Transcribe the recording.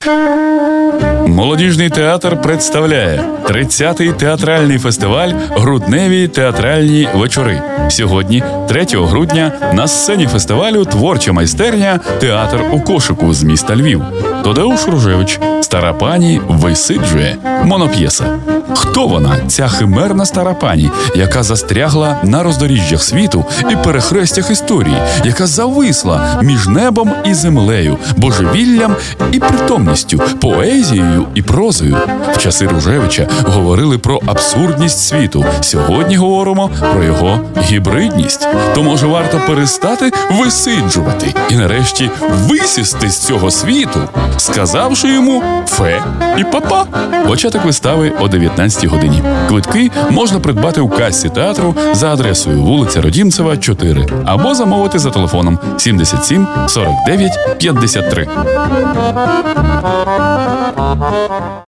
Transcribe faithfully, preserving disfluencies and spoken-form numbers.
Молодіжний театр представляє тридцятий театральний фестиваль «Грудневі театральні вечори». Сьогодні, третього грудня, на сцені фестивалю творча майстерня «Театр у кошику» з міста Львів. Тадеуш Ружевич «Стара пані висиджує» моноп'єса. Хто вона, ця химерна стара пані, яка застрягла на роздоріжжях світу і перехрестях історії, яка зависла між небом і землею, божевіллям і притомністю, поезією і прозою? В часи Ружевича говорили про абсурдність світу. Сьогодні говоримо про його гібридність. То, може, варто перестати висиджувати і, нарешті, висісти з цього світу, сказавши йому «фе» і «папа». Початок вистави о дев'ятнадцятій годині. Квитки можна придбати у касі театру за адресою вулиця Родімцева, чотири, або замовити за телефоном сімдесят сім сорок дев'ять п'ятдесят три.